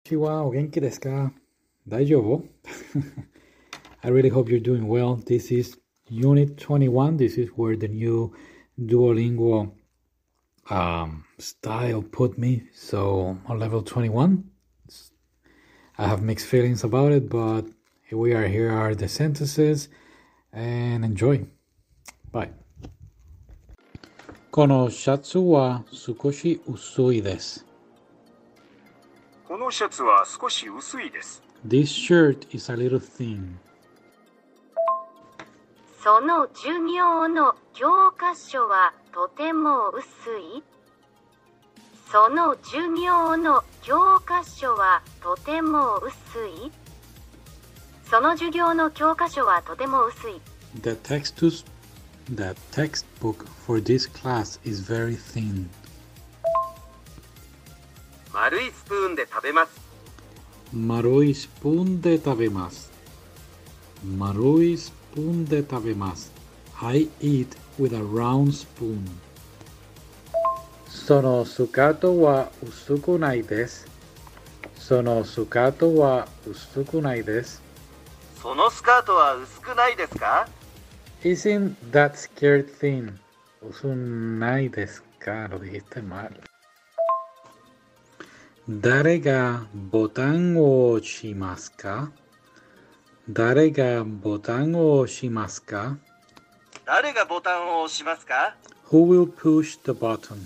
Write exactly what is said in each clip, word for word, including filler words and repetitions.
Konnichiwa, o genki desu ka? Daijoubu? I really hope you're doing well. This is Unit twenty-one. This is where the new Duolingo um, style put me. So on level twenty-one, I have mixed feelings about it, but here we are. Here are the sentences, and enjoy. Bye. このシャツは少し薄いです。 このシャツは少し薄いです。 This shirt is a little thin. その授業の教科書はとても薄い。その授業の教科書はとても薄い。その授業の教科書はとても薄い。 The textus, the textbook for this class is very thin. 丸いスプーンで食べます。 丸いスプーンで食べます。丸いスプーンで食べます。I eat with a round spoon. そのスカートは薄くないです。そのスカートは薄くないです。 そのスカートは薄くないですか？ Isn't that skirt thin? 薄ないですか? Lo dijiste mal. 誰がボタンを押しますか？誰がボタンを押しますか？ 誰がボタンを押しますか？ Who will push the button?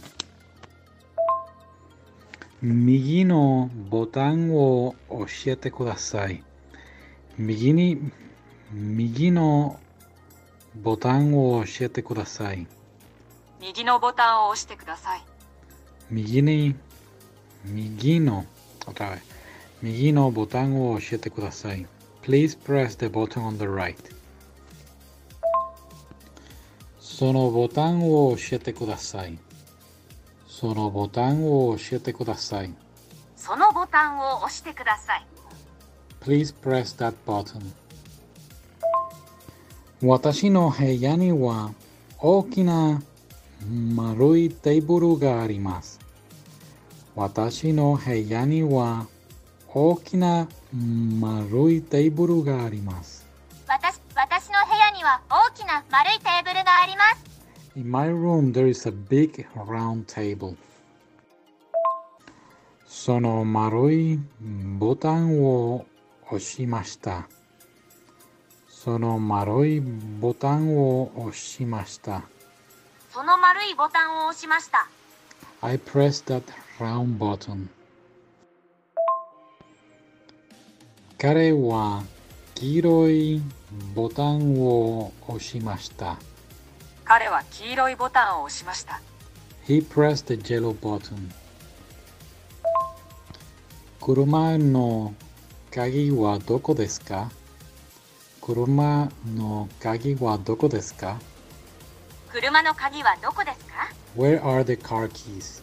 右のボタンを教えてください。右に、右のボタンを教えてください。 右のボタンを押してください。 右に、右の、otra vez. 右のボタンを教えてください。Please press the button on the right. そのボタンを教えてください。そのボタンを教えてください。 そのボタンを押してください。 Please press that button. 私の部屋には大きな丸いテーブルがあります。私の部屋には大きな丸いテーブルがあります。 私、私の部屋には大きな丸いテーブルがあります。 In my room there is a big round table. その丸いボタンを押しました。その丸いボタンを押しました。 その丸いボタンを押しました。 I pressed that round button. 彼は黄色いボタンを押しました。 彼は黄色いボタンを押しました。 He pressed the yellow button. 車の鍵はどこですか？車の鍵はどこですか？ 車の鍵はどこですか？ Where are the car keys?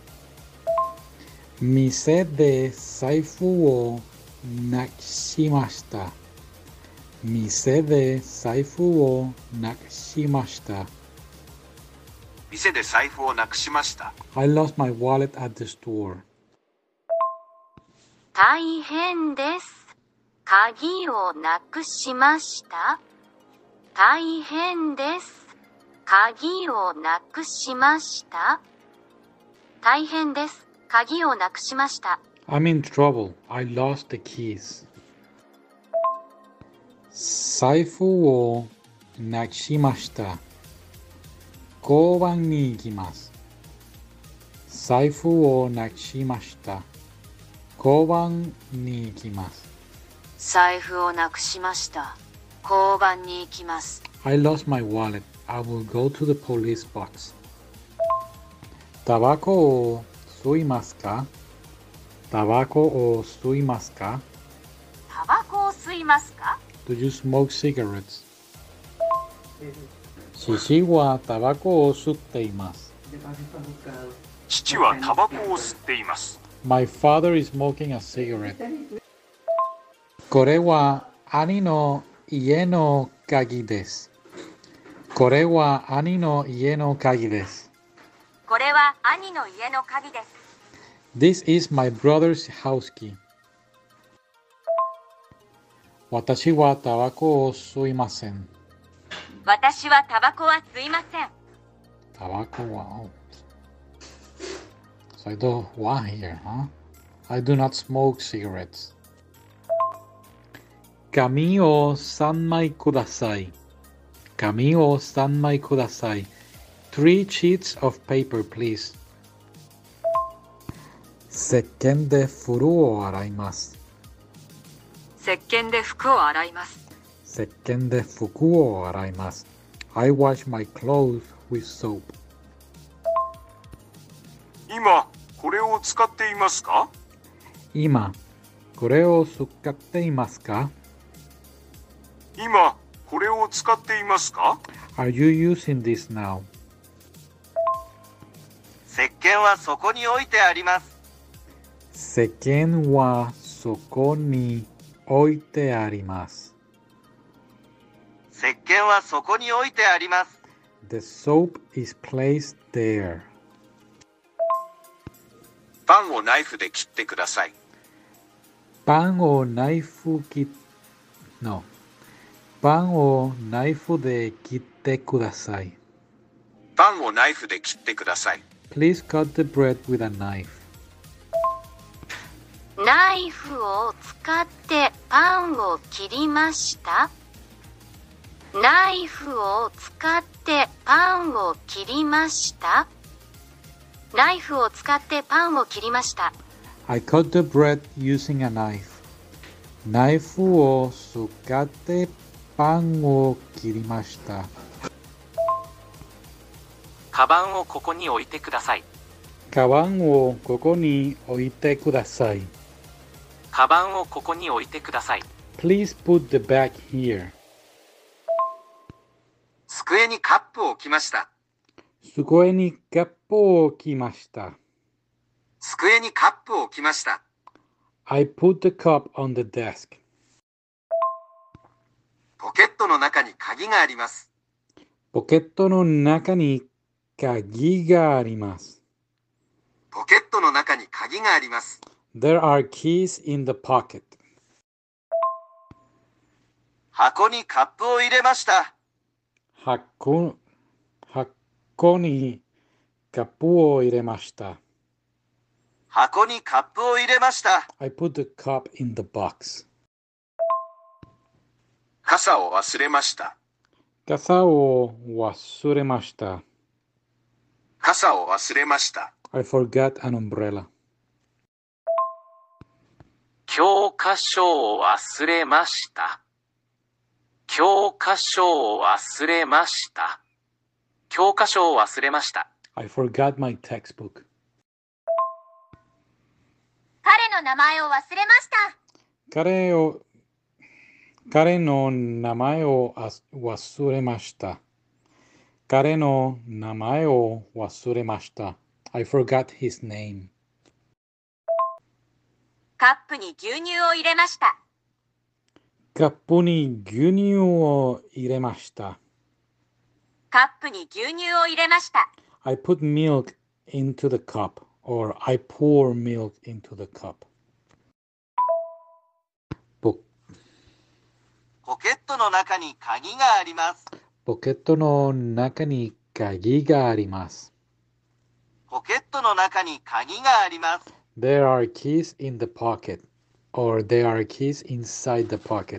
店で財布をなくしました。店で財布をなくしました。 店で財布をなくしました。 I lost my wallet at the store. 大変です。鍵をなくしました。大変です。鍵をなくしました。大変です。鍵をなくしました。 I'm in trouble. I lost the keys. 財布をなくしました。交番に行きます。財布をなくしました。交番に行きます。 財布をなくしました。交番に行きます。 I lost my wallet. I will go to the police box. タバコを吸いますか？タバコを吸いますか？ タバコを吸いますか？ Do you smoke cigarettes? 父はタバコを吸っています。 父はタバコを吸っています。 My father is smoking a cigarette. これは兄の家の鍵です。これは兄の家の鍵です。 これは兄の家の鍵です。 This is my brother's house key. 私はタバコを吸いません。 私はタバコは吸いません。 タバコは。Oh. So I don't want here, huh? I do not smoke cigarettes. 紙を三枚ください。紙を三枚ください。Three sheets of paper, please. 石鹸で風呂を洗います。 石鹸で服を洗います。 石鹸で服を洗います。I wash my clothes with soap. 今、これを使っていますか？ 今、これを使っていますか？ 今、これを使っていますか？ Are you using this now? 石鹸はそこに置いてあります。 石鹸はそこに置いてあります。 石鹸はそこに置いてあります。 The soap is placed there. パンをナイフで切ってください。 パンをナイフ切、no. パンをナイフで切ってください。 パンをナイフで切ってください。 Please cut the bread with a knife. ナイフを使ってパンを切りました。ナイフを使ってパンを切りました。ナイフを使ってパンを切りました。 I cut the bread using a knife. ナイフを使ってパンを切りました。 カバンをここに置いてください。 カバンをここに置いてください。 カバンをここに置いてください。 Please put the bag here. 机にカップを置きました。 机にカップを置きました。 机にカップを置きました。 I put the cup on the desk. ポケットの中に鍵があります。 ポケットの中に鍵があります。 ポケットの中に鍵があります。 There are keys in the pocket. 箱にカップを入れました。 箱、箱にカップを入れました。 箱にカップを入れました。 I put the cup in the box. 傘を忘れました。 傘を忘れました。 傘を忘れました。 I forgot an umbrella. 教科書を忘れました。教科書を忘れました。教科書を忘れました。 I forgot my textbook. 彼の名前を忘れました。 彼を、彼の名前を忘れました。彼の名前を忘れました。I forgot his name. カップに牛乳を入れました。 カップに牛乳を入れました。 カップに牛乳を入れました。 I put milk into the cup, or I pour milk into the cup. ポ、 ポケットの中に鍵があります。 ポケットの中に鍵があります。 ポケットの中に鍵があります。 There are keys in the pocket, or there are keys inside the pocket.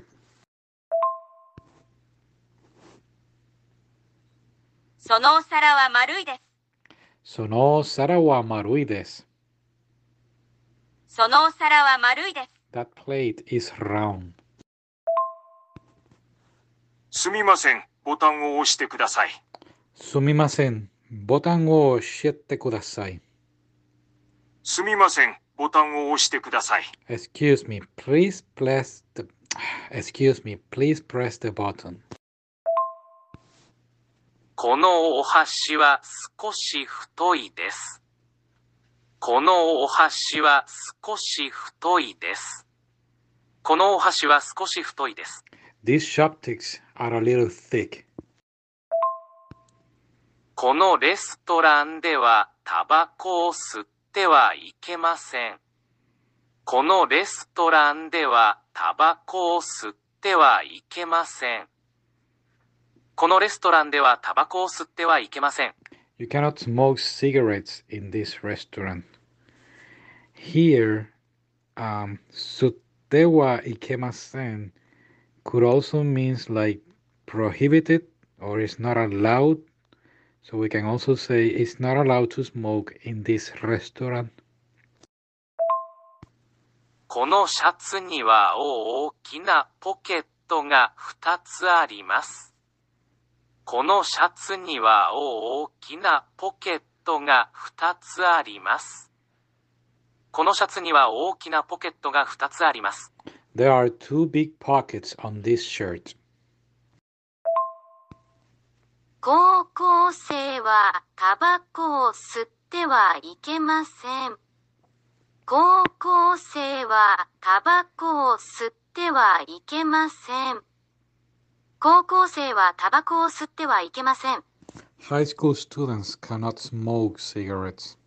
そのお皿は丸いです。 そのお皿は丸いです。 そのお皿は丸いです。 That plate is round. すみません。ボタンを押してください。 すみません。ボタンを押してください。 すみません。ボタンを押してください。 Excuse me, please press the Excuse me, please press the button. このお箸は少し太いです。このお箸は少し太いです。このお箸は少し太いです。 These chopsticks are a little thick. このレストランではタバコを吸ってはいけません。このレストランではタバコを吸っってはいけません。このレストランではタバコを吸ってはいけません。 You cannot smoke cigarettes in this restaurant. Here, um, 吸ってはいけません could also means like prohibited or is not allowed. So we can also say it's not allowed to smoke in this restaurant. このシャツには大きなポケットがふたつあります。このシャツには大きなポケットがふたつあります。このシャツには大きなポケットがふたつあります。 There are two big pockets on this shirt. 高校生はタバコを吸ってはいけません。高校生はタバコを吸ってはいけません。高校生はタバコを吸ってはいけません。 High school students cannot smoke cigarettes.